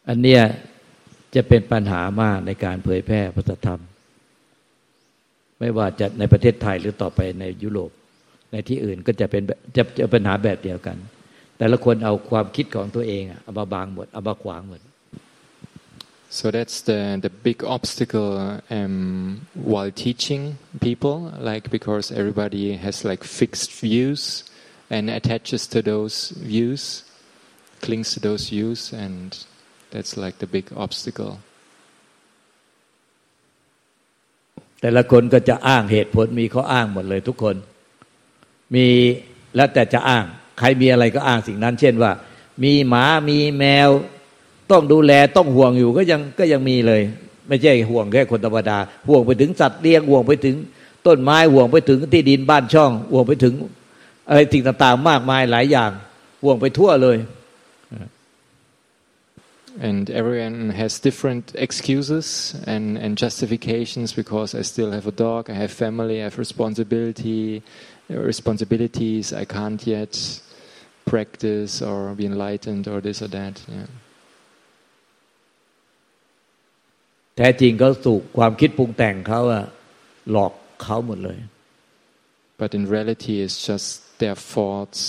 อันเนี้ยจะเป็นปัญหามากในการเผยแพร่พระธรรมไม่ว่าจะในประเทศไทยหรือต่อไปในยุโรปในที่อื่นก็จะเป็นจะปัญหาแบบเดียวกันแต่ละคนเอาความคิดของตัวเองเอามาบังหมดเอามาขวางหมด So that's the big obstacle while teaching people, like because everybody has like fixed views and attaches to those views, clings to those views, and that's like the big obstacle. แต่ละคนก็จะอ้างเหตุผลมีข้ออ้างหมดเลยทุกคนมีแล้วแต่จะอ้างใครมีอะไรก็อ้างสิ่งนั้นเช่นว่ามีหมามีแมวต้องดูแลต้องห่วงอยู่ก็ยังมีเลยไม่ใช่ห่วงแค่คนธรรมดาห่วงไปถึงสัตว์เลี้ยงห่วงไปถึงต้นไม้ห่วงไปถึงที่ดินบ้านช่องห่วงไปถึงอะไรสิ่งต่างๆมากมายหลายอย่างห่วงไปทั่วเลย And everyone has different excuses and justifications because I still have a dog, I have family, I have responsibilities, I can't yet practice or be enlightened or this or that. Yeah. แท้จริงเขาถูกความคิดปรุงแต่งเขาหลอกเขาหมดเลย But in reality it's just their thoughts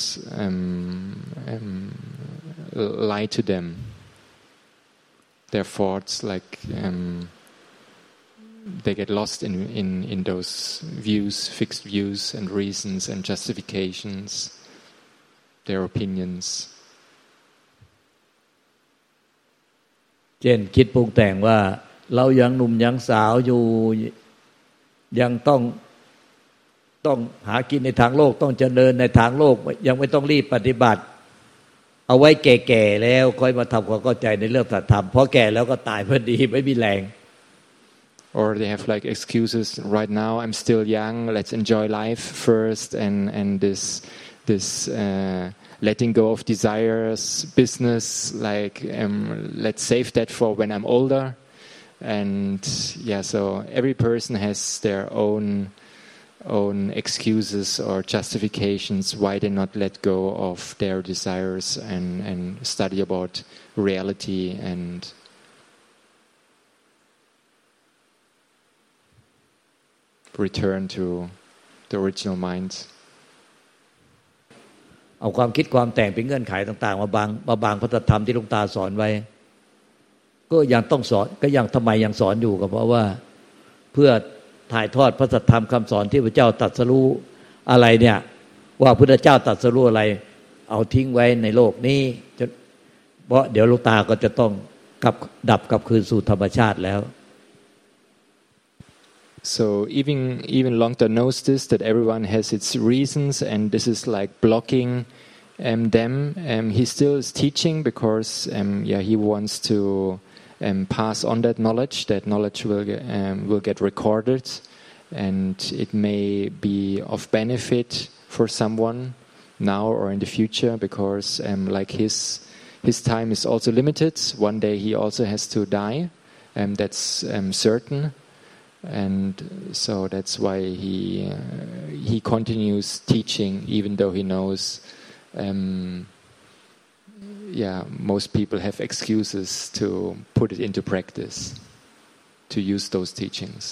lie to them. Their thoughts like they get lost in those views, fixed views and reasons and justifications, their opinions. เช่นคิดปรุงแต่งว่าเรายังหนุ่มยังสาวอยู่ยังต้องหากินในทางโลกต้องเจริญในทางโลกยังไม่ต้องรีบปฏิบัติเอาไว้แก่ๆแล้วค่อยมาทำความเข้าใจในเรื่องสัจธรรมเพราะแก่แล้วก็ตายพอดีไม่มีแรง Or they have like excuses right now I'm still young let's enjoy life first and this letting go of desires business like let's save that for when I'm older and yeah so every person has their own excuses or justifications why they not let go of their desires and study about reality and return to the original mind เอาความคิดความแต่งเป็นเงื่อนไขต่างๆมาบังพระธรรมที่หลวงตาสอนไว้ก็ยังต้องสอนก็ยังทำไมยังสอนอยู่ก็เพราะว่าเพื่อถ่ายทอดพระสัทธรรมคำสอนที่พระเจ้าตรัสรู้อะไรเนี่ยว่าพระพุทธเจ้าตรัสรู้อะไรเอาทิ้งไว้ในโลกนี้เพราะเดี๋ยวหลวงตาก็จะต้องดับกลับคืนสู่ธรรมชาติแล้ว So even Longta knows this that everyone has its reasons and this is like blocking them he still is teaching because he wants to pass on that knowledge will get recorded and it may be of benefit for someone now or in the future because like his time is also limited one day he also has to die that's certain and so that's why he continues teaching even though he knows most people have excuses to put it into practice, to use those teachings.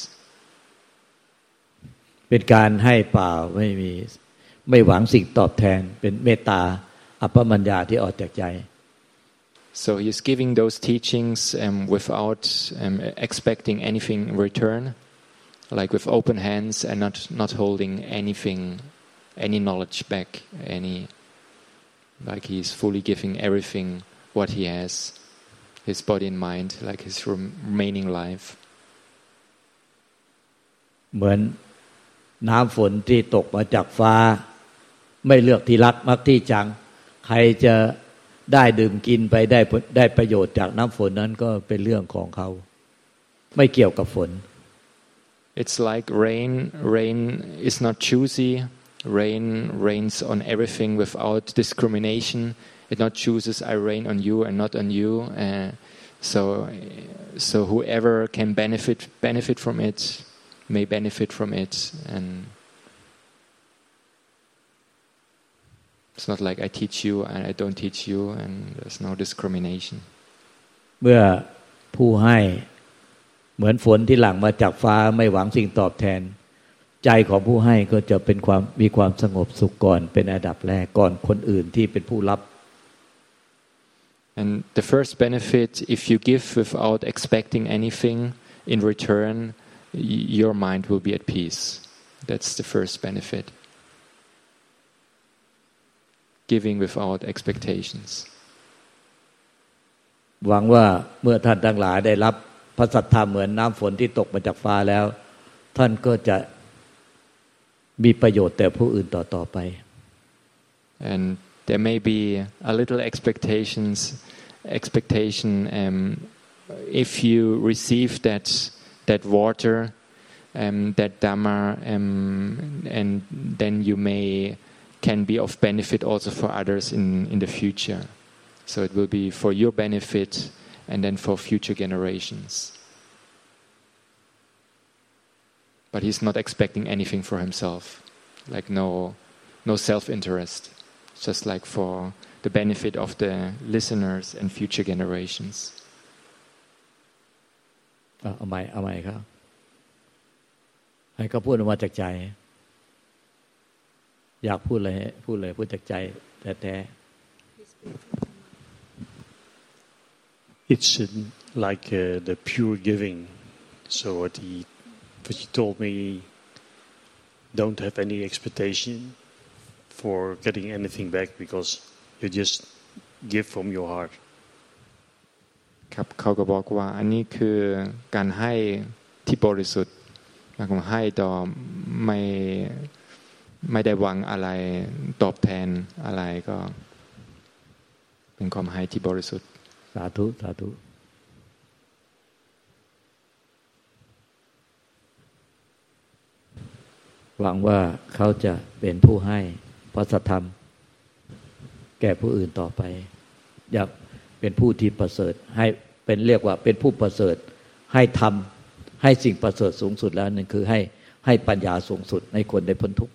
เป็นการให้เปล่าไม่หวังสิ่งตอบแทนเป็นเมตตาอัปปมัญญาที่ออกจากใจ So he is giving those teachings without expecting anything in return, like with open hands and not holding anything, any knowledge back, like he's fully giving everything what he has, his body and mind, like his remaining life. เหมือนน้ำฝนที่ตกมาจากฟ้าไม่เลือกที่รักมักที่ชังใครจะได้ดื่มกินไปได้ประโยชน์จากน้ำฝนนั้นก็เป็นเรื่องของเขาไม่เกี่ยวกับฝน It's like rain is not choosy. Rain rains on everything without discrimination. It not chooses I rain on you and not on you. So whoever can benefit from it may benefit from it, and it's not like I teach you and I don't teach you, and there's no discrimination. เมื่อผู้ให้เหมือนฝนที่หลั่งมาจากฟ้าไม่หวังสิ่งตอบแทนใจของผู้ให้ก็จะเป็นมีความสงบสุขก่อนเป็นอันดับแรกก่อนคนอื่นที่เป็นผู้รับ And the first benefit, if you give without expecting anything in return, your mind will be at peace. That's the first benefit. Giving without expectations. หวังว่าเมื่อท่านทั้งหลายได้รับพระสัทธรรมเหมือนน้ำฝนที่ตกมาจากฟ้าแล้วท่านก็จะมีประโยชน์แต่ผู้อื่นต่อไป And there may be a little expectation if you receive that water, that Dhamma, and then you can be of benefit also for others in the future. So it will be for your benefit and then for future generations. But he's not expecting anything for himself, like no self-interest, just like for the benefit of the listeners and future generations. เอาใหม่ครับให้เขาพูดออกมาจากใจอยากพูดเลยพูดจากใจแท้ๆ It's like the pure giving. So what he told me, don't have any expectation for getting anything back because you just give from your heart. ครับเขาก็บอกว่าอันนี้คือการให้ที่บริสุทธิ์หมายความให้ต่อไม่ได้หวังอะไรตอบแทนอะไรก็เป็นความให้ที่บริสุทธิ์สาธุหวังว่าเขาจะเป็นผู้ให้พระสัทธรรมแก่ผู้อื่นต่อไปอยากเป็นผู้ที่ประเสริฐให้เป็นเรียกว่าเป็นผู้ประเสริฐให้ทำให้สิ่งประเสริฐสูงสุดแล้วนั่นคือให้ปัญญาสูงสุดให้คนได้พ้นทุกข์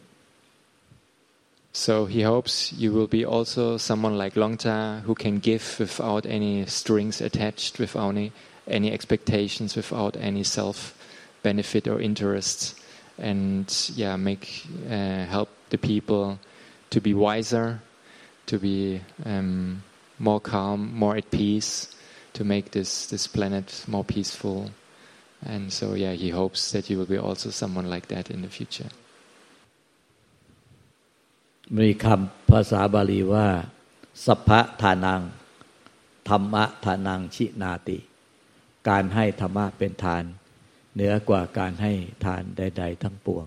So he hopes you will be also someone like Longta who can give without any strings attached, without any expectations, without any self benefit or interest, and help the people to be wiser, to be more calm, more at peace, to make this planet more peaceful. And so he hopes that you will be also someone like that in the future. มีคำภาษาบาลีว่าสัพพะทานังธรรมะทานังชินาติการให้ธรรมะเป็นทานเหนือกว่าการให้ทานใดๆทั้งปวง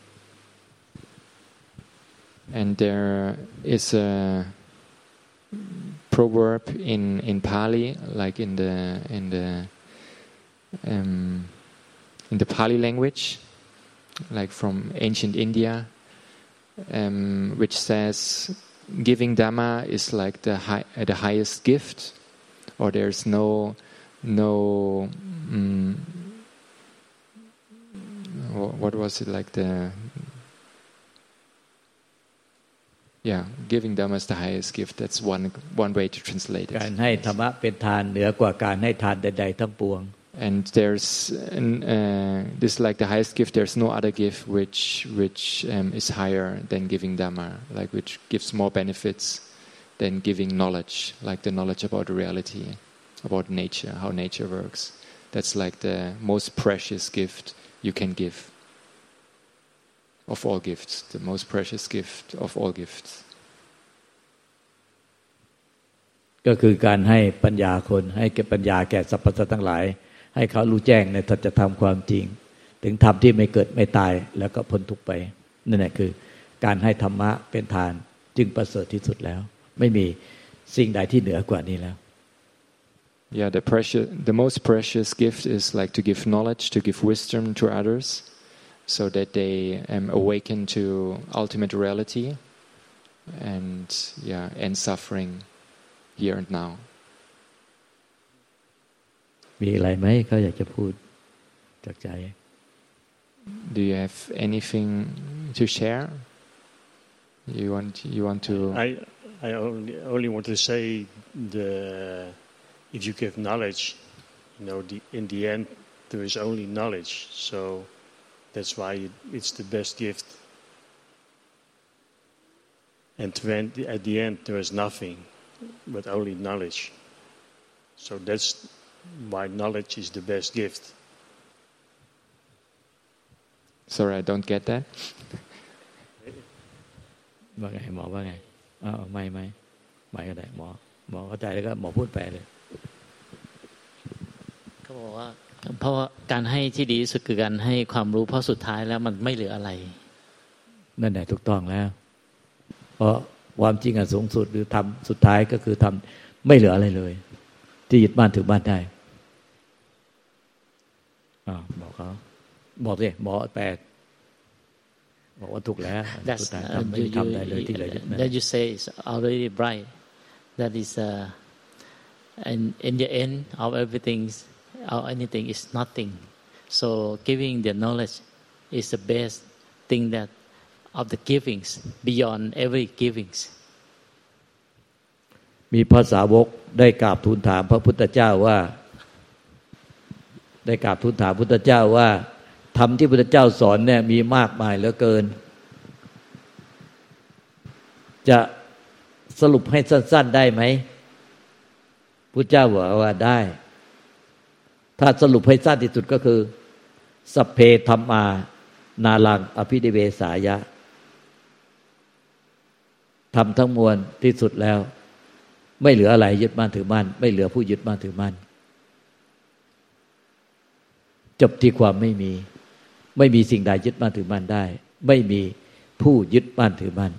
And there is a proverb in Pali, like in the Pali language, like from ancient India, which says giving Dhamma is like the highest gift, or there's no what was it like giving Dhamma is the highest gift. That's one way to translate it. การให้ธรรมะเป็นทานเหนือกว่าการให้ทานใดๆทั้งปวง And there's this like the highest gift. There's no other gift which is higher than giving Dhamma, like which gives more benefits than giving knowledge, like the knowledge about reality, about nature, how nature works. That's like the most precious gift you can give. Of all gifts, the most precious gift of all gifts. ก็คือการให้ปัญญาคนให้แก่ปัญญาแก่สรรพสัตว์ทั้งหลายให้เขารู้แจ้งในสัจธรรมความจริงถึงธรรมที่ไม่เกิดไม่ตายแล้วก็พ้นทุกข์ไปนั่นแหละคือการให้ธรรมะเป็นทานจึงประเสริฐที่สุดแล้วไม่มีสิ่งใดที่เหนือกว่านี้แล้ว Yeah, the most precious gift is like to give knowledge, to give wisdom to others, so that they awaken to ultimate reality and end suffering here and now. มีอะไรไหมเขาอยากจะพูดจากใจ Do you have anything to share? You want to? I only want to say if you give knowledge, in the end there is only knowledge. So that's why it's the best gift. And when at the end there is nothing but only knowledge. So that's why knowledge is the best gift. Sorry, I don't get that. ว่าไงหมอว่าไงไม่ก็ได้หมอเข้าใจแล้วก็หมอพูดแปลเลยเขาบอกว่าเพราะว่าการให้ที่ดีที่สุดคือการให้ความรู้เพราะสุดท้ายแล้วมันไม่เหลืออะไรนั่นแหละถูกต้องแล้วเพราะความจริงอันสูงสุดหรือทำสุดท้ายก็คือทำไม่เหลืออะไรเลยที่ยึดบ้านถือบ้านได้บอกเขาบอกสิหมอแปลบอกว่าถูกแล้วสุดท้ายไม่ทำได้เลยที่เหลือยึดนั่น That you say is already bright that is and in the end of everything or anything is nothing so giving the knowledge is the best thing that of the givings beyond every givings มีพระสาวกได้กราบทูลถามพระพุทธเจ้าว่าพุทธเจ้าว่าธรรมที่พุทธเจ้าสอนเนี่ยมีมากมายเหลือเกินจะสรุปให้สั้นๆได้ไหมพุทธเจ้าบอกว่าได้ถ้าสรุปให้สั้นที่สุดก็คือสัพเพธัมมานาลังอภินิเวสายะทำทั้งมวลที่สุดแล้วไม่เหลืออะไรยึดมั่นถือมั่นไม่เหลือผู้ยึดมั่นถือมั่นจบที่ความไม่มีสิ่งใดยึดมั่นถือมั่นได้ไม่มีผู้ยึดมั่นถือมั่น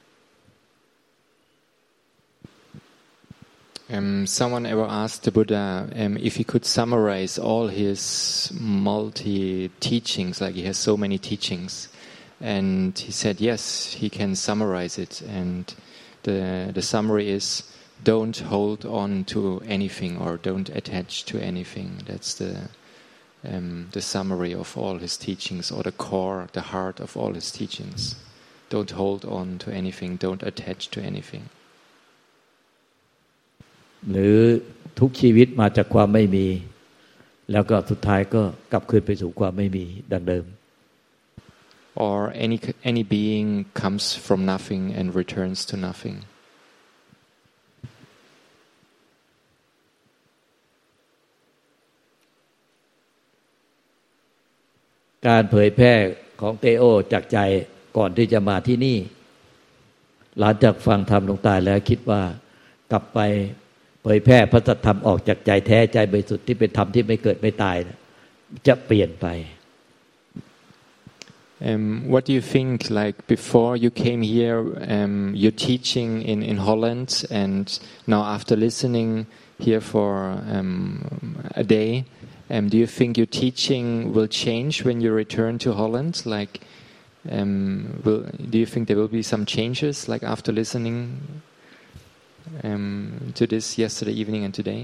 Someone ever asked the Buddha if he could summarize all his multi-teachings, like he has so many teachings, and he said yes, he can summarize it, and the summary is don't hold on to anything or don't attach to anything. That's the summary of all his teachings, or the core, the heart of all his teachings. Don't hold on to anything, don't attach to anything. หรือทุกชีวิตมาจากความไม่มีแล้วก็สุดท้ายก็กลับคืนไปสู่ความไม่มีดังเดิม Or any being comes from nothing and returns to nothing. การเผยแพร่ของเตโอจากใจก่อนที่จะมาที่นี่หลังจากฟังธรรมหลวงตาแล้วคิดว่ากลับไปเผยแพร่พระสัทธรรมออกจากใจแท้ใจบริสุทธิ์ที่เป็นธรรมที่ไม่เกิดไม่ตายจะเปลี่ยนไป What do you think, like before you came here, you're teaching in Holland, and now after listening here for a day, do you think your teaching will change when you return to Holland? Like, do you think there will be some changes, like after listening to this yesterday evening and today?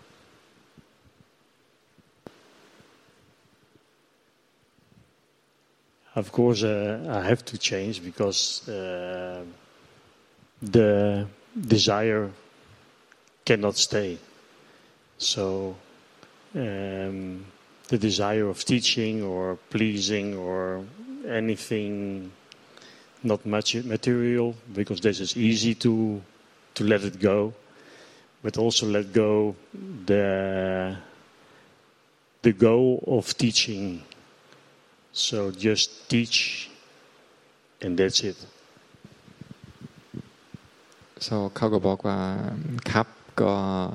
Of course, I have to change because the desire cannot stay. So the desire of teaching or pleasing or anything not much material, because this is easy to let it go, but also let go the goal of teaching. So just teach, and that's it. So เขาก็บอกว่าครับก็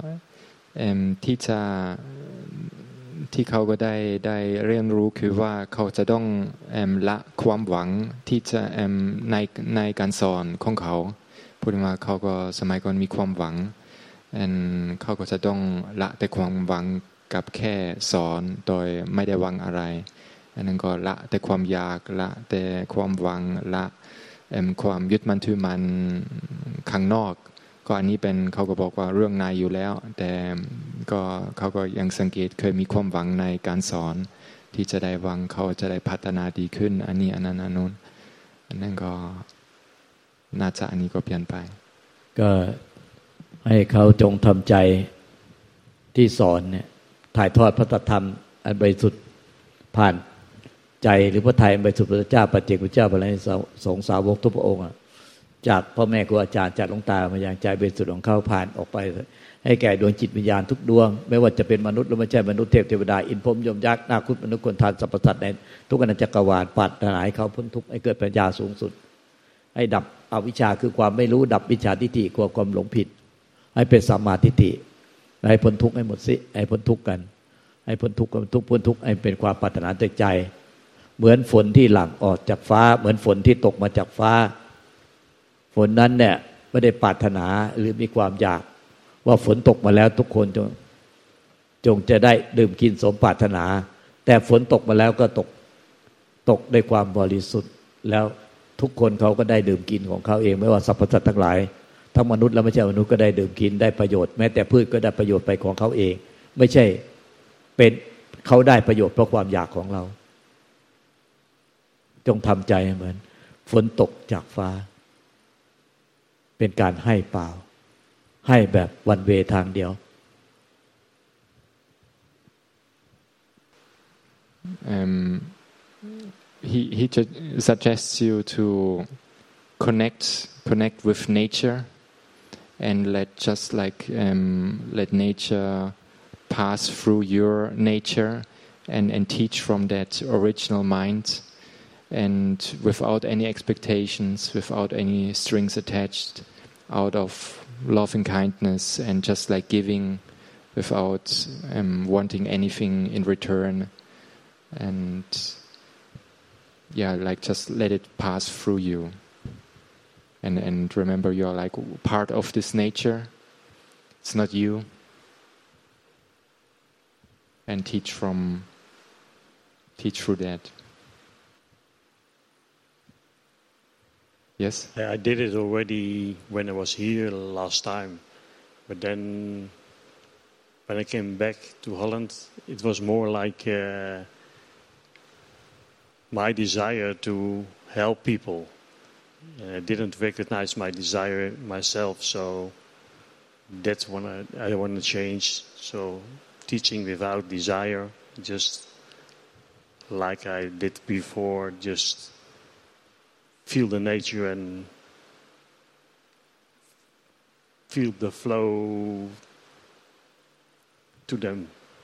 ที่เขาก็ได้เรียนรู้คือว่าเขาจะต้องละความหวังที่จะในการสอนของเขาพูดมาเขาก็สมัยก่อนมีความหวังเขาก็จะต้องละแต่ความหวังกับแค่สอนโดยไม่ได้หวังอะไรอันนั้นก็ละแต่ความอยากละแต่ความหวังละความยึดมั่นถือมั่นข้างนอกก็อันนี้เป็นเขาก็บอกว่าเรื่องในอยู่แล้วแต่ก็เขาก็ยังสังเกตเคยมีความหวังในการสอนที่จะได้หวังเขาจะได้พัฒนาดีขึ้นอันนี้อันนั้นอันนู้นอันนั้นก็น่าจะอันนี้ก็เปลี่ยนไปก็ให้เขาจงทำใจที่สอนเนี่ยถ่ายทอดพระธรรมอันบริสุทธิ์ผ่านใจหรือพระทัยอันบริสุทธิ์พระเจ้าปัจเจกพุทธเจ้าพระอรหันตสงฆ์สาวกทุกพระองค์จากพ่อแม่ครูอาจารย์จากหลวงตามาอย่างใจบริสุทธิ์ของเขาผ่านออกไปให้แก่ดวงจิตวิญญาณทุกดวงไม่ว่าจะเป็นมนุษย์หรือไม่ใช่มนุษย์เทพเทวดาอินทร์พรหมยมยักษ์นาคมนุษย์คนทานสรรพสัตว์ในทุกอนันตจักรวาลปรารถนาให้เขาพ้นทุกข์ให้เกิดปัญญาสูงสุดให้ดับอวิชชาคือความไม่รู้ดับวิชชาทิฏฐิความหลงผิดให้เป็นสัมมาทิฏฐิให้พ้นทุกข์ให้หมดสิให้พ้นทุกข์กันให้พ้นทุกข์พ้นทุกข์ให้เป็นความปรารถนาจากใจเหมือนฝนที่หลั่งออกจากฟ้าเหมือนฝนที่ตกมาจากฟ้าฝนนั้นเนี่ยไม่ได้ปรารถนาหรือมีความอยากว่าฝนตกมาแล้วทุกคนจงจะได้ดื่มกินสมปรารถนาแต่ฝนตกมาแล้วก็ตกด้วยความบริสุทธิ์แล้วทุกคนเขาก็ได้ดื่มกินของเขาเองไม่ว่าสรรพสัตว์ทั้งหลายทั้งมนุษย์และไม่ใช่มนุษย์ก็ได้ดื่มกินได้ประโยชน์แม้แต่พืชก็ได้ประโยชน์ไปของเขาเองไม่ใช่เป็นเขาได้ประโยชน์เพราะความอยากของเราจงทำใจเหมือนฝนตกจากฟ้าเป็นการให้เปล่าให้แบบวันเวทางเดียว he suggests you to connect with nature and let nature pass through your nature and teach from that original mind and without any expectations without any strings attached out of loving kindness and just like giving without wanting anything in return and like just let it pass through you and remember you're like part of this nature it's not you and teach through that yes I did it already when I was here last time but then when I came back to Holland it was more like my desire to help people I didn't recognize my desire myself so that's what I want to change so teaching without desire just like I did before just feel the nature and feel the flow to them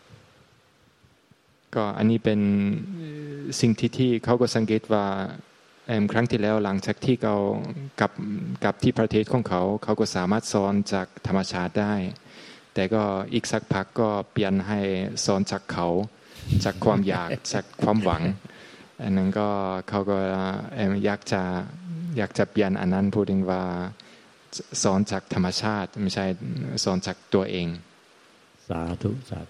ก็อันนี้เป็นสิ่งที่เขาก็สังเกตว่าครั้งที่แล้วหลังจากที่เขากับที่ประเทศของเขาก็สามารถสอนจากธรรมชาติได้แต่ก็อีกสักพักก็เปลี่ยนให้สอนจากเขาจากความอยากจากความหวังอันนั้นก็เขาก็อยากจะเปลี่ยนอันนั้นพูดถึงว่าสอนจากธรรมชาติไม่ใช่สอนจากตัวเองสาธุสาธุ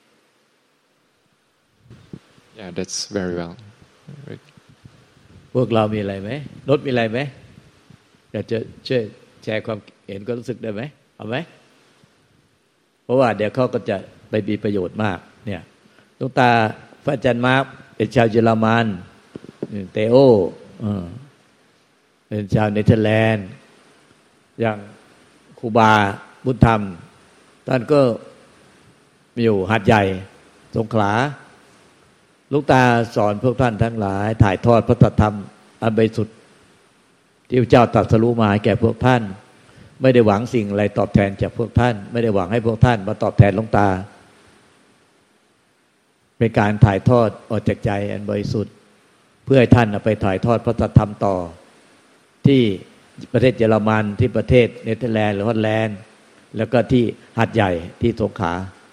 Yeah that's very well พวกเรามีอะไรไหมรถมีอะไรไหมอยากจะช่วยแชร์ความเห็นก็รู้สึกได้ไหมเอาไหมเพราะว่าเดี๋ยวเขาก็จะไปมีประโยชน์มากเนี่ยหลวงตาพระอาจารย์มาร์คเป็นชาวเยอรมันเตโอเป็นชาวเนเธอร์แลนด์อย่างครูบาบุญธรรมท่านก็อยู่หาดใหญ่สงขลาหลวงตาสอนพวกท่านทั้งหลายถ่ายทอดพระธรรมอันบริสุทธิ์ที่พระเจ้าตรัสรู้มาแก่พวกท่านไม่ได้หวังสิ่งอะไรตอบแทนจากพวกท่านไม่ได้หวังให้พวกท่านมาตอบแทนหลวงตาเป็นการถ่ายทอดออกจากใจอันบริสุทธิ์เพื่อให้ท่านไปถ่ายทอดพระธรรมต่อที่ประเทศเยอรมันที่ประเทศเนเธอร์แลนด์หรือฮอลแลนด์แล้วก็ที่หาดใหญ่ที่สงขลา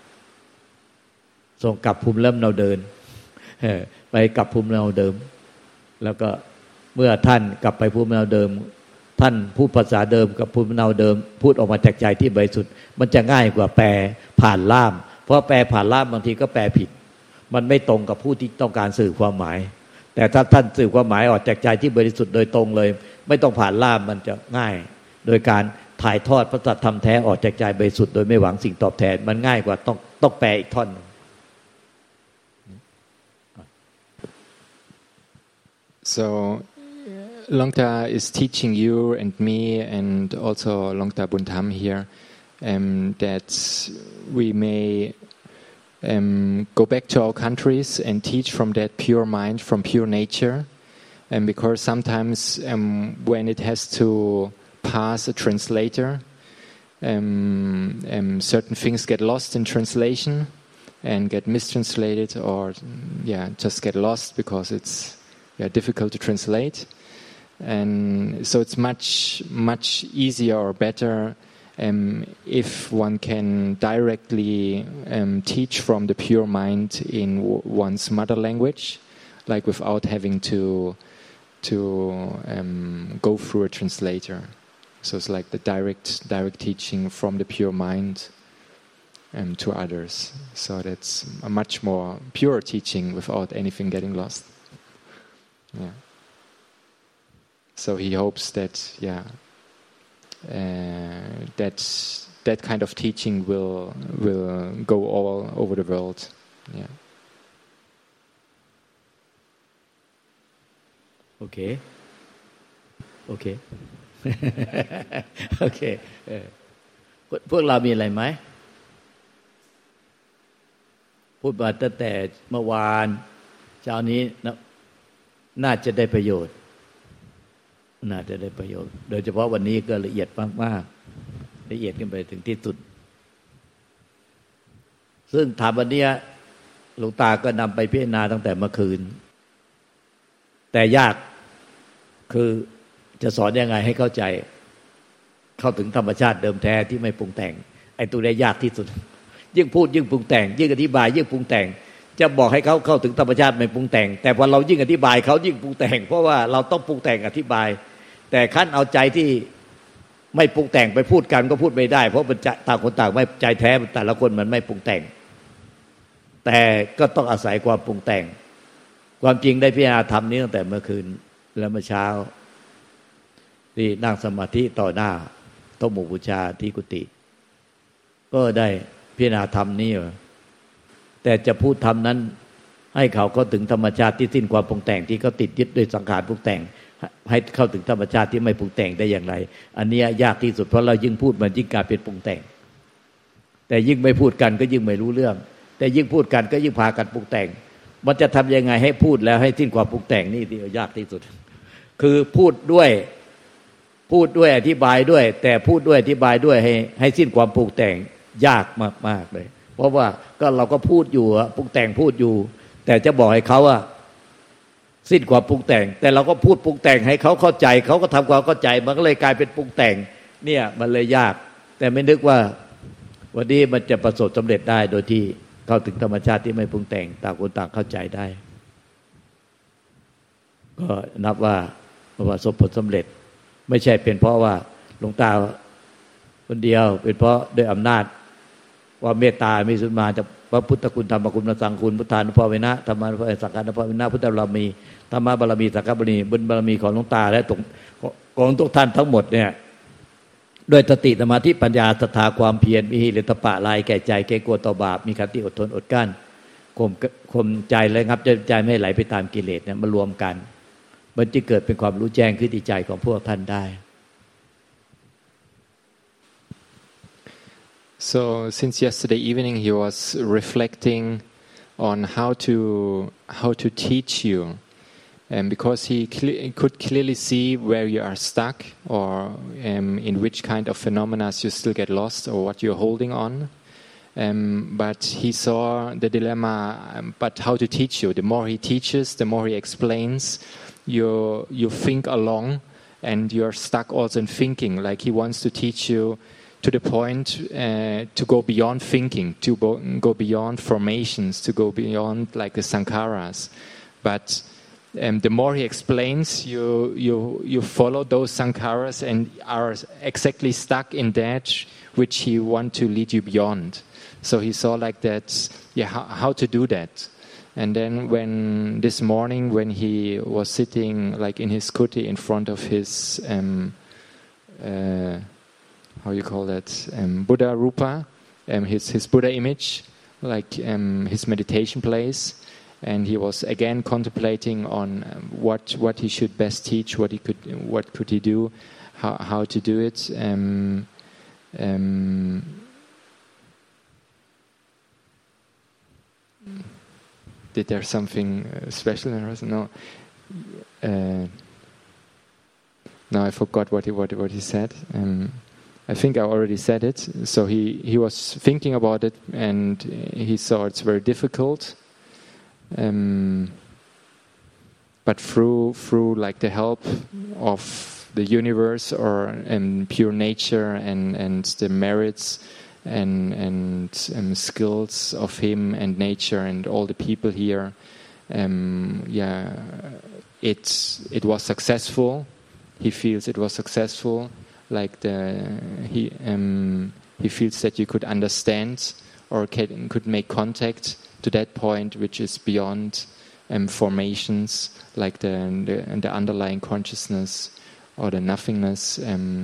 ส่งกลับภูมิลำเนาเดิมไปกลับภูมิลำเนาเดิมแล้วก็เมื่อท่านกลับไปภูมิลำเนาเดิมท่านพูดภาษาเดิมกับภูมิลำเนาเดิมพูดออกมาจากใจที่บริสุทธิ์มันจะง่ายกว่าแปลผ่านล่ามเพราะแปลผ่านล่ามบางทีก็แปลผิดมันไม่ตรงกับผู้ที่ต้องการสื่อความหมายแต่ถ้าท่านสื่อความหมายออกจากใจที่บริสุทธิ์โดยตรงเลยไม่ต้องผ่านล่ามมันจะง่ายโดยการถ่ายทอดพระธรรมแท้ออกจากใจบริสุทธิ์โดยไม่หวังสิ่งตอบแทนมันง่ายกว่าต้องแปลอีกท่อน So Longta is teaching you and me and also Longta Buntham here that we may go back to our countries and teach from that pure mind, from pure nature. And because sometimes when it has to pass a translator, certain things get lost in translation and get mistranslated, or just get lost because it's difficult to translate. And so it's much easier or better if one can directly teach from the pure mind in one's mother language, like without having to go through a translator. So it's like the direct teaching from the pure mind to others. So that's a much more pure teaching without anything getting lost. Yeah. So he hopes that that kind of teaching will go all over the world. Yeah. Okay.โอเค พวกเรามีอะไรไหมพูดมาตั้งแต่เมื่อวานเช้านี้น่าจะได้ประโยชน์โดยเฉพาะวันนี้ก็ละเอียดมากๆละเอียดขึ้นไปถึงที่สุดซึ่งถามวันนี้หลวงตาก็นำไปพิจารณาตั้งแต่เมื่อคืนแต่ยากคือจะสอนยังไงให้เข้าใจเข้าถึงธรรมชาติเดิมแท้ที่ไม่ปรุงแต่งไอ้ตัวนี้ยากที่สุดยิ่งพูดยิ่งปรุงแต่งยิ่งอธิบายยิ่งปรุงแต่งจะบอกให้เขาเข้าถึงธรรมชาติไม่ปรุงแต่งแต่พอเรายิ่งอธิบายเขายิ่งปรุงแต่งเพราะว่าเราต้องปรุงแต่งอธิบายแต่ขั้นเอาใจที่ไม่ปรุงแต่งไปพูดกันก็พูดไม่ได้เพราะมันต่างคนต่างไม่ใจแท้แต่ละคนมันไม่ปรุงแต่งแต่ก็ต้องอาศัยความปรุงแต่งความจริงได้พิจารณาธรรมนี้ตั้งแต่เมื่อคืนและเมื่อเช้าที่นั่งสมาธิต่อหน้าโต๊ะหมู่บูชาที่กุฏิก็ได้พิจารณาธรรมนี้แต่จะพูดธรรมนั้นให้เขาเข้าถึงธรรมชาติที่สิ้นความปรุงแต่งที่เขาติดยึดด้วยสังขารปรุงแต่งให้เข้าถึงธรรมชาติที่ไม่ปรุงแต่งได้อย่างไรอันนี้ยากที่สุดเพราะเรายิ่งพูดมันยิ่งกลายเป็นปรุงแต่งแต่ยิ่งไม่พูดกันก็ยิ่งไม่รู้เรื่องแต่ยิ่งพูดกันก็ยิ่งพากันปรุงแต่งมันจะทำยังไงให้พูดแล้วให้สิ้นความปรุงแต่งนี่ที่ยากที่สุดคือพูดด้วยอธิบายด้วยแต่พูดด้วยอธิบายด้วยให้สิ้นความปรุงแต่งยากมากๆเลยเพราะว่าก็เราก็พูดอยู่ปรุงแต่งพูดอยู่แต่จะบอกให้เขาว่าสิ้นความปรุงแต่งแต่เราก็พูดปรุงแต่งให้เขาเข้าใจเขาก็ทำความเข้าใจมันก็เลยกลายเป็นปรุงแต่งเนี่ยมันเลยยากแต่ไม่นึกว่าวันนี้มันจะประสบสำเร็จได้โดยที่เข้าถึงธรรมชาติที่ไม่ปรุงแต่งต่างคนต่างเข้าใจได้ก็นับว่าประสบผลสำเร็จไม่ใช่เป็นเพราะว่าหลวงตาคนเดียวเป็นเพราะด้วยอำนาจว่าเมตตามีสุดมาจากพระพุทธคุณธรรมคุณพระสังฆคุณพุทธานุภาเวนะธรรมานุภาเวนะสังฆานุภาเวนะพุทธบารมีธรรมบารมีสังฆบารมีบุญบารมีของหลวงตาและของทุกท่านทั้งหมดเนี่ยด้วยสติสมาธิปัญญาศรัทธาความเพียรมีหิริโอตปะลายแก่ใจเกรงกลัวต่อบาปมีขันติอดทนอดกลั้นข่มใจและงับใจไม่ไหลไปตามกิเลสเนี่ยมารวมกันมันจะเกิดเป็นความรู้แจ้งขึ้นในใจของพวกท่านได้ So since yesterday evening he was reflecting on how to teach you, and because he could clearly see where you are stuck or in which kind of phenomena you still get lost or what you're holding on. But he saw the dilemma, but how to teach you. The more he teaches, the more he explains, you think along and you're stuck also in thinking. Like he wants to teach you to the point to go beyond thinking, to go beyond formations, to go beyond like the sankharas. But the more he explains, you follow those sankharas and are exactly stuck in that which he wants to lead you beyond. So he saw like that, how to do that. And then when this morning, when he was sitting like in his kuti in front of his, how you call that, Buddha Rupa, his Buddha image, like his meditation place, and he was again contemplating on what he should best teach, what could he do, how to do it. Did there something special in us? No. No, I forgot what he said. I think I already said it. So he was thinking about it, and he saw it's very difficult. But through like the help of the universe or pure nature and the merits and skills of him and nature and all the people here, it was successful. He feels it was successful. Like he feels that you could understand or could make contact to that point, which is beyond formations, like the underlying consciousness or the nothingness.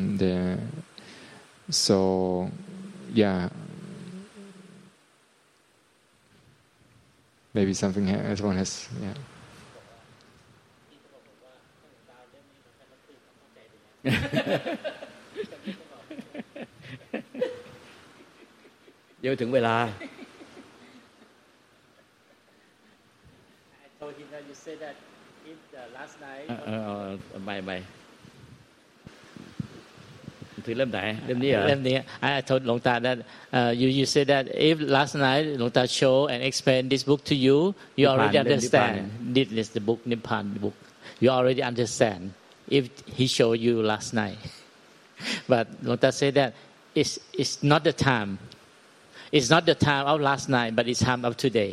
Maybe something everyone has. Yeah. เดี๋ยวถึงเวลา I told him that you said that if last night ไม่ถือเล่มไหนเล่มนี้เหรอเล่มนี้ I told หลวงตา that you said that if last night หลวงตา show and explain this book to you you already understand this is the book Nibbana book you already understand if he showed you last night but หลวงตา said that it's not the time it's not the time of last night but it's time of today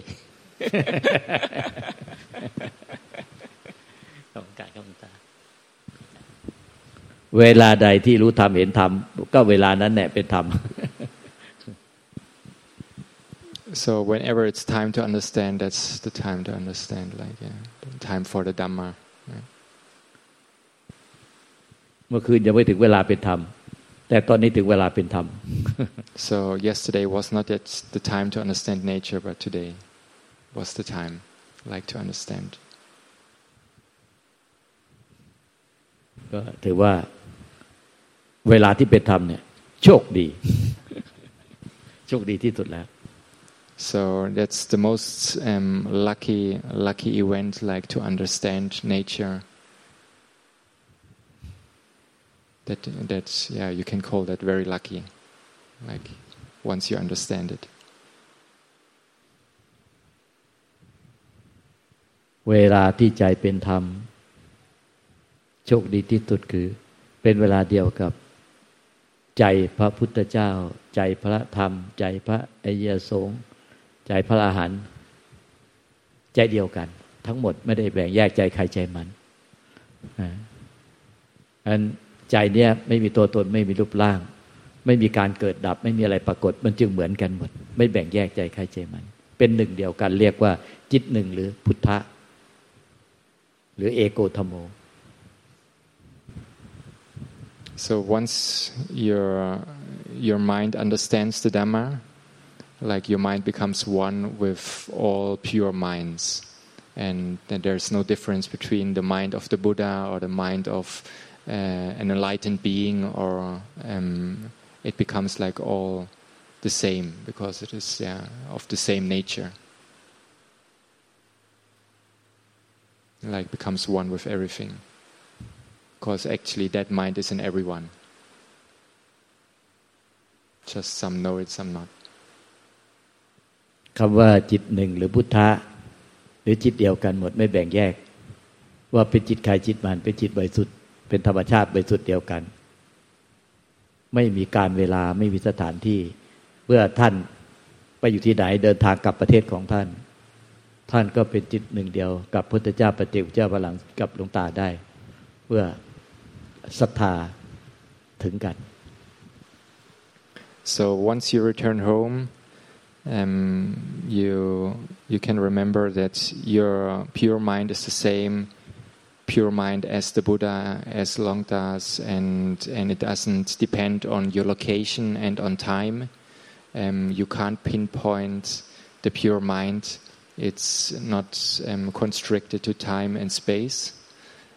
ขอบคุณครับหลวงตาเวลาใดที่รู้ธรรมเห็นธรรมก็เวลานั้นแหละเป็นธรรม So whenever it's time to understand, that's the time to understand. Like the time for the Dhamma. Right? เมื่อคืนยังไม่ถึงเวลาเป็นธรรมแต่ตอนนี้ถึงเวลาเป็นธรรม So yesterday was not yet the time to understand nature, but today was the time, like to understand. ก็ถือว่าเวลาที่เป็นธรรมเนี่ยโชคดี โชคดีที่สุดแล้ว So that's the most lucky event, like to understand nature. That's you can call that very lucky, like once you understand it. เวลาที่ใจเป็นธรรมโชคดีที่สุดคือเป็นเวลาเดียวกับใจพระพุทธเจ้าใจพระธรรมใจพระอริยสงฆ์ใจพระอรหันต์ใจเดียวกันทั้งหมดไม่ได้แบ่งแยกใจใครใจมันอันใจเนี้ยไม่มีตัวตนไม่มีรูปร่างไม่มีการเกิดดับไม่มีอะไรปรากฏมันจึงเหมือนกันหมดไม่แบ่งแยกใจใครใจมันเป็นหนึ่งเดียวกันเรียกว่าจิตหนึ่งหรือพุทธะหรือเอโกธัมโม So once your mind understands the Dhamma, like your mind becomes one with all pure minds, and that there's no difference between the mind of the Buddha or the mind of an enlightened being, or it becomes like all the same because it is of the same nature. Like becomes one with everything.Because actually that mind is in everyone. Just some know it, some not. คำว่าจิตหนึ่งหรือพุทธะหรือจิตเดียวกันหมดไม่แบ่งแยกว่าเป็นจิตใครจิตมันเป็นจิตบริสุทธิ์เป็นธรรมชาติบริสุทธิ์เดียวกันไม่มีการเวลาไม่มีสถานที่เมื่อท่านไปอยู่ที่ไหนเดินทางกลับประเทศของท่านท่านก็เป็นจิตหนึ่งเดียวกับพุทธเจ้าปฏิเจกเจ้าพระหลังกับหลวงตาได้เพื่อศรัทธาถึงกัน So once you return home, you can remember that your pure mind is the same pure mind as the Buddha, as Longtas, and it doesn't depend on your location and on time. You can't pinpoint the pure mind. It's not constricted to time and space.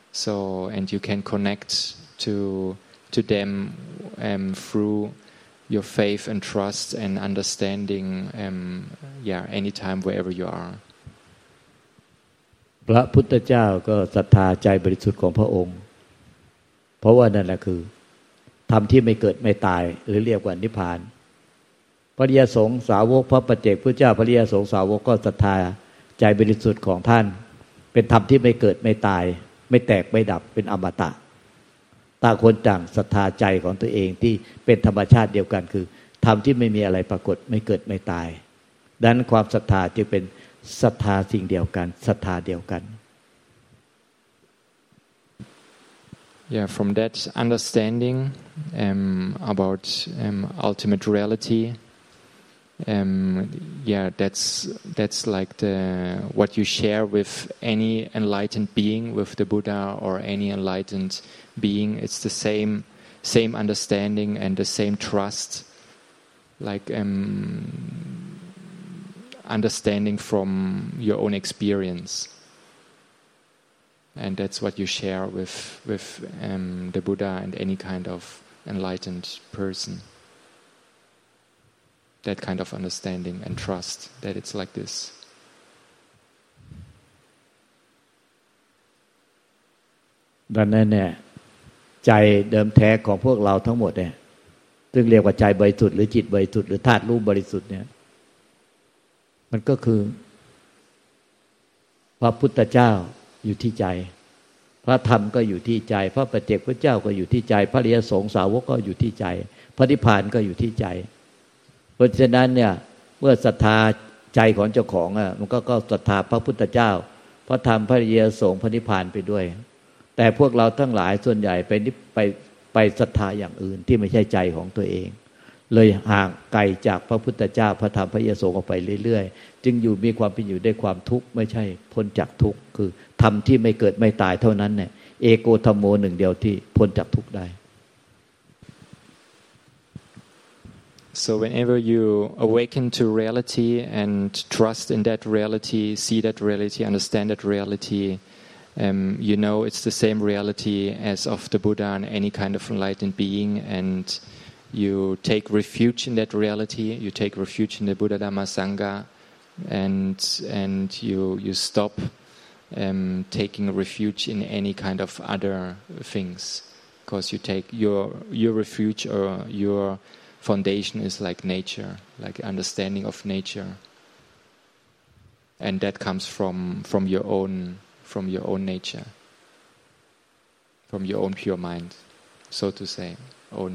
So, and you can connect to them through your faith and trust and understanding anytime wherever you are. พระพุทธเจ้าก็ศรัทธาใจบริสุทธิ์ของพระองค์เพราะว่านั่นแหละคือธรรมที่ไม่เกิดไม่ตายหรือเรียกว่านิพพานพระอริยสงฆ์สาวกพระปัจเจกพุทธเจ้าพระอริยสงฆ์สาวกก็ศรัทธาใจบริสุทธิ์ของท่านเป็นธรรมที่ไม่เกิดไม่ตายไม่แตกไม่ดับเป็นอมตะต่างคนต่างศรัทธาใจของตัวเองที่เป็นธรรมชาติเดียวกันคือธรรมที่ไม่มีอะไรปรากฏไม่เกิดไม่ตายดังนั้นความศรัทธาจึงเป็นศรัทธาสิ่งเดียวกันศรัทธาเดียวกัน Yeah, from that understanding about ultimate reality, that's like what you share with any enlightened being, with the Buddha or any enlightened being. It's the same understanding and the same trust, like understanding from your own experience. And that's what you share with the Buddha and any kind of enlightened person. That kind of understanding and trust that it's like this. ดังนั้นเนี่ยใจเดิมแท้ของพวกเราทั้งหมดเนี่ยซึ่งเรียกว่าใจบริสุทธิ์หรือจิตบริสุทธิ์หรือธาตุรู้บริสุทธิ์เนี่ยมันก็คือพระพุทธเจ้าอยู่ที่ใจพระธรรมก็อยู่ที่ใจพระปัจเจกพุทธเจ้าก็อยู่ที่ใจพระอริยสงฆ์สาวกก็อยู่ที่ใจพระนิพพานก็อยู่ที่ใจเพราะฉะนั้นเนี่ยเมื่อศรัทธาใจของเจ้าของมันก็ศรัทธาพระพุทธเจ้าพระธรรมพระอริยสงฆ์พระนิพพานไปด้วยแต่พวกเราทั้งหลายส่วนใหญ่ไปศรัทธาอย่างอื่นที่ไม่ใช่ใจของตัวเองเลยห่างไกลจากพระพุทธเจ้าพระธรรมพระอริยสงฆ์ออกไปเรื่อยๆจึงอยู่มีความเป็นอยู่ด้วยความทุกข์ไม่ใช่พ้นจากทุกข์คือธรรมที่ไม่เกิดไม่ตายเท่านั้นเนี่ยเอโกธัมโมหนึ่งเดียวที่พ้นจากทุกข์ได้ So whenever you awaken to reality and trust in that reality, see that reality, understand that reality, you know it's the same reality as of the Buddha and any kind of enlightened being, and you take refuge in that reality. You take refuge in the Buddha, Dhamma, Sangha, and you stop taking refuge in any kind of other things, because you take your refuge or your foundation is like nature, like understanding of nature, and that comes from your own nature, from your own pure mind, so to say, own.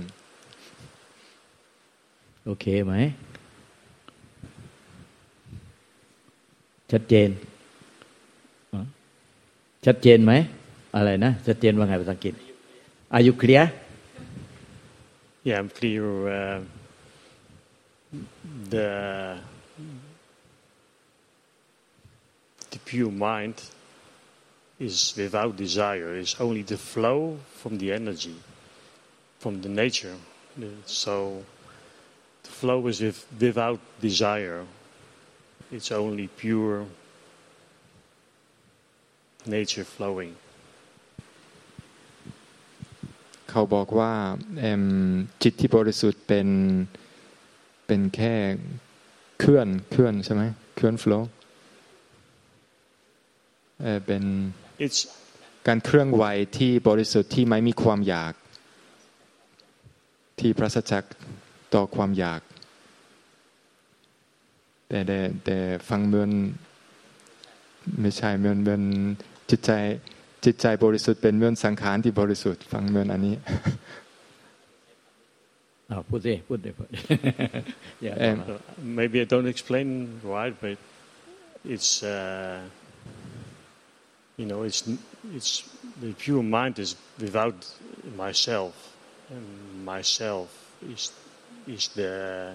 โอเคไหมชัดเจนไหมอะไรนะชัดเจนว่าไงภาษาอังกฤษ Are you clear? Yeah, I'm clear. The pure mind is without desire. It's only the flow from the energy, from the nature. So the flow is without desire. It's only pure nature flowing. เขาบอกว่าจิตที่บริสุทธิ์เป็นแค่เคลื่อนใช่ไหมเคลื่อน flow เป็นการเคลื่อนไหวที่บริสุทธิ์ที่ไม่มีความอยากที่ปราศจากต่อความอยากแต่ฟังเหมือนไม่ใช่เหมือนจิตใจบริสุทธิ์เป็นเหมือนสังขารที่บริสุทธิ์ฟังเหมือนอันนี้พูดดิ Maybe I don't explain right, but it's it's the pure mind is without myself, and myself is the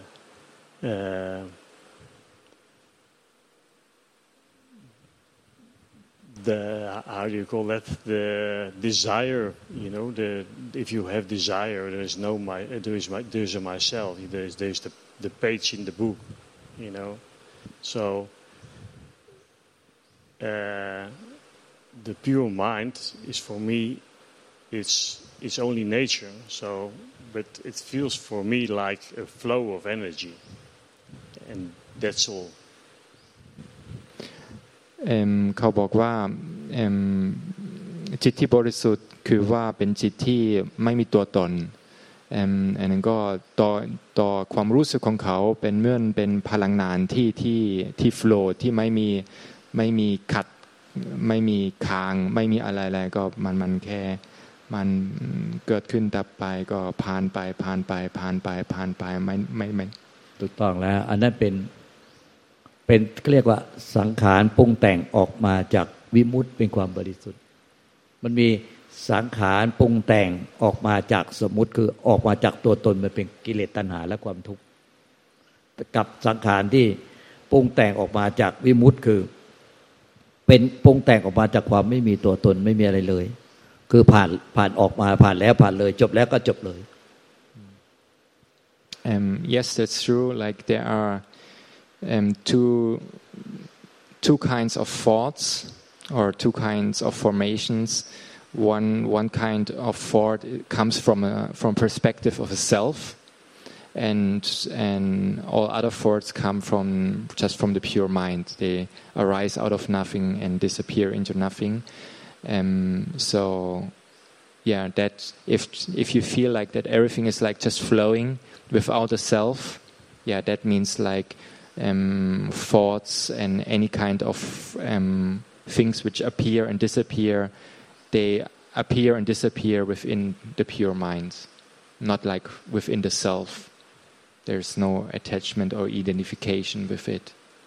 how do you call that, the desire, if you have desire, there's a myself, there's the page in the book, so the pure mind is for me, it's is only nature. So, but it feels for me like a flow of energy, and that's all. เขาบอกว่าจิตที่บริสุทธิ์คือว่าเป็นจิตที่ไม่มีตัวตนอันนั้นก็ต่อความรู้สึกของเขาเป็นเหมือนเป็นพลังงานที่โฟลว์ที่ไม่มีขัดไม่มีค้างไม่มีอะไรก็มันแค่มันเกิดขึ้นดับไปก็ผ่านไปไม่ถูกต้องแล้วอันนั้นเป็นเรียกว่าสังขารปรุงแต่งออกมาจากวิมุตติเป็นความบริสุทธิ์มันมีสังขารปรุงแต่งออกมาจากสมมุติคือออกมาจากตัวตนมันเป็นกิเลสตัณหาและความทุกข์กับสังขารที่ปรุงแต่งออกมาจากวิมุตติคือเป็นปรุงแต่งออกมาจากความไม่มีตัวตนไม่มีอะไรเลยคือผ่านออกมาผ่านแล้วผ่านเลยจบแล้วก็จบเลย Yes, that's true. Like there are two kinds of thoughts or two kinds of formations. One kind of thought comes from perspective of a self, and all other thoughts come just from the pure mind. They arise out of nothing and disappear into nothing. So, yeah, that if you feel like that everything is like just flowing without a self, yeah, that means like thoughts and any kind of things which appear and disappear, they appear and disappear within the pure mind, not like within the self. There's no attachment or identification with it.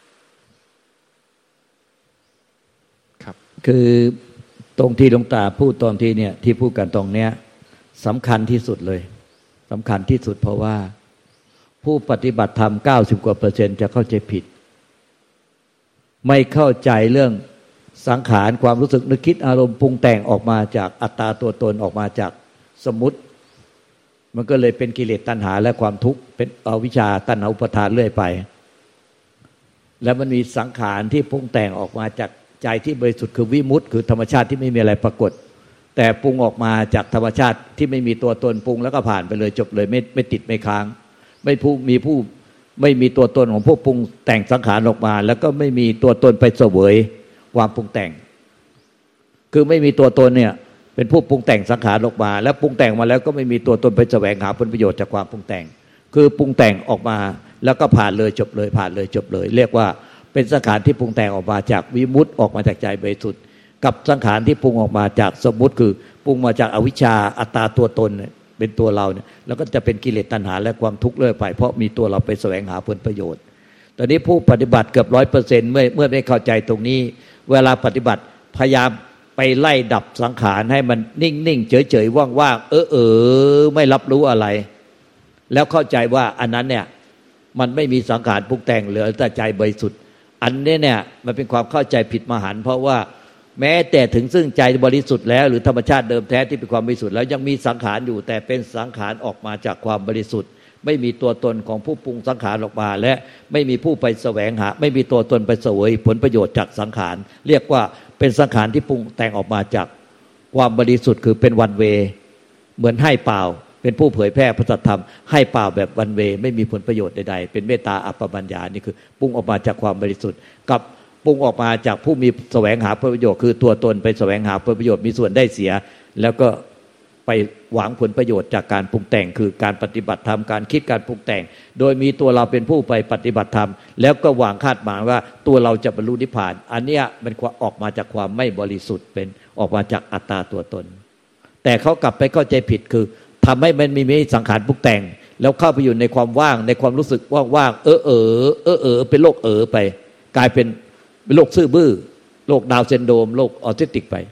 ครับคือตรงที่หลวงตาพูดตอนที่เนี่ยที่พูดกันตรงเนี้ยสำคัญที่สุดเลยสำคัญที่สุดเพราะว่าผู้ปฏิบัติธรรม90%กว่าจะเข้าใจผิดไม่เข้าใจเรื่องสังขารความรู้สึกนึกคิดอารมณ์ปรุงแต่งออกมาจากอัตตาตัวตนออกมาจากสมมุติมันก็เลยเป็นกิเลสตัณหาและความทุกข์เป็นอวิชชาตัณหาอุปาทานเรื่อยไปแล้วมันมีสังขารที่ปรุงแต่งออกมาจากใจที่บริสุทธิ์คือวิมุตติคือธรรมชาติที่ไม่มีอะไรปรากฏแต่ปรุงออกมาจากธรรมชาติที่ไม่มีตัวตนปรุงแล้วก็ผ่านไปเลยจบเลยไม่ติดไม่ค้างไม่มีตัวตนของผู้ปรุงแต่งสังขารออกมาแล้วก็ไม่มีตัวตนไปเสวยความปรุงแต่งคือไม่มีตัวตนเนี่ยเป็นผู้ปรุงแต่งสังขารออกมาแล้วปรุงแต่งมาแล้วก็ไม่มีตัวตนไปแสวงหาผลประโยชน์จากความปรุงแต่งคือปรุงแต่งออกมาแล้วก็ผ่านเลยจบเลยผ่านเลยจบเลยเรียกว่าเป็นสังขารที่ปรุงแต่งออกมาจากวิมุตติออกมาจากใจบริสุทธิ์กับสังขารที่ปรุงออกมาจากสมมุติคือปรุงมาจากอวิชชาอัตตาตัวตนเป็นตัวเราเนี่ยแล้วก็จะเป็นกิเลสตัณหาและความทุกข์เรื่อยไปเพราะมีตัวเราไปแสวงหาผลประโยชน์ตอนนี้ผู้ปฏิบัติเกือบ 100% เมื่อได้เข้าใจตรงนี้เวลาปฏิบัติพยายามไปไล่ดับสังขารให้มันนิ่งๆเฉยๆว่างๆไม่รับรู้อะไรแล้วเข้าใจว่าอันนั้นเนี่ยมันไม่มีสังขารปรุงแต่งเหลือแต่ใจบริสุทธิ์อันนี้เนี่ยมันเป็นความเข้าใจผิดมหันต์เพราะว่าแม้แต่ถึงซึ่งใจบริสุทธิ์แล้วหรือธรรมชาติเดิมแท้ที่เป็นความบริสุทธิ์แล้วยังมีสังขารอยู่แต่เป็นสังขารออกมาจากความบริสุทธิ์ไม่มีตัวตนของผู้ปรุงสังขารออกมาและไม่มีผู้ไปแสวงหาไม่มีตัวตนไปเสวยผลประโยชน์จากสังขารเรียกว่าเป็นสังขารที่ปรุงแต่งออกมาจากความบริสุทธิ์คือเป็นวันเวเหมือนให้เปล่าเป็นผู้เผยแพร่พระสัทธรรมให้เปล่าแบบวันเวไม่มีผลประโยชน์ใดๆเป็นเมตตาอัปปมัญญานี่คือปรุงออกมาจากความบริสุทธิ์กับปรุงออกมาจากผู้มีแสวงหาผลประโยชน์คือตัวตนไปแสวงหาผลประโยชน์มีส่วนได้เสียแล้วก็ไปหวังผลประโยชน์จากการปรุงแต่งคือการปฏิบัติธรรมการคิดการปรุงแต่งโดยมีตัวเราเป็นผู้ไปปฏิบัติธรรมแล้วก็หวังคาดหมายว่าตัวเราจะบรรลุนิพพานอันเนี้ยมันออกมาจากความไม่บริสุทธิ์เป็นออกมาจากอัตตาตัวตนแต่เขากลับไปเข้าใจผิดคือทำให้มันมีสังขารปรุงแต่งแล้วเข้าไปอยู่ในความว่างในความรู้สึกว่างๆเป็นโรคไปกลายเป็นโรคซื่อบื้อโรคดาวน์ซินโดรมโรคออทิสติกไป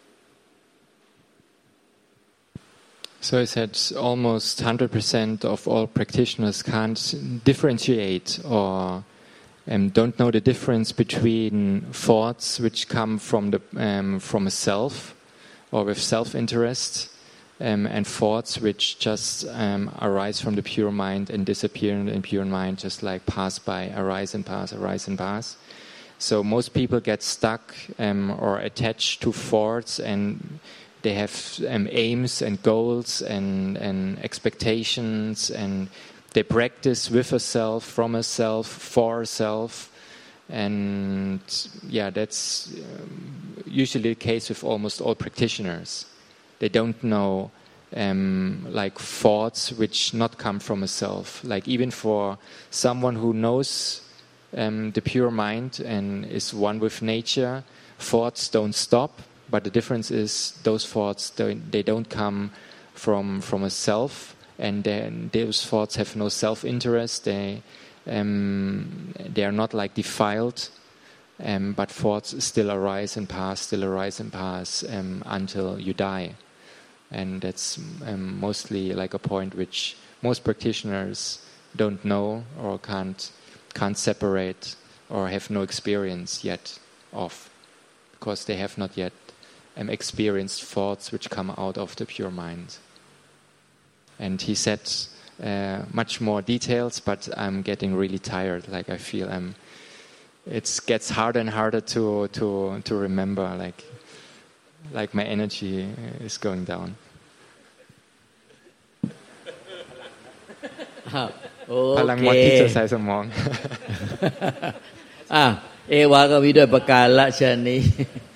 So I said almost 100% of all practitioners can't differentiate or don't know the difference between thoughts which come from a self or with self-interest and thoughts which just arise from the pure mind and disappear in pure mind, just like pass by, arise and pass, arise and pass. So most people get stuck or attached to thoughts and they have aims and goals and expectations, and they practice with a self, from a self, for a self. And that's usually the case with almost all practitioners. They don't know like thoughts which not come from a self. Like even for someone who knows the pure mind and is one with nature, thoughts don't stop. But the difference is those thoughts, they don't come from a self, and then those thoughts have no self-interest. They are not like defiled, but thoughts still arise and pass, until you die. And that's mostly like a point which most practitioners don't know or can't separate or have no experience yet of, because they have not yet experienced thoughts which come out of the pure mind. And he said much more details, but I'm getting really tired. Like I feel it gets harder and harder to remember. Like my energy is going down. พลังหมดที่จะใส่สมองเอวาก็มีด้วยประการละเช่นนี้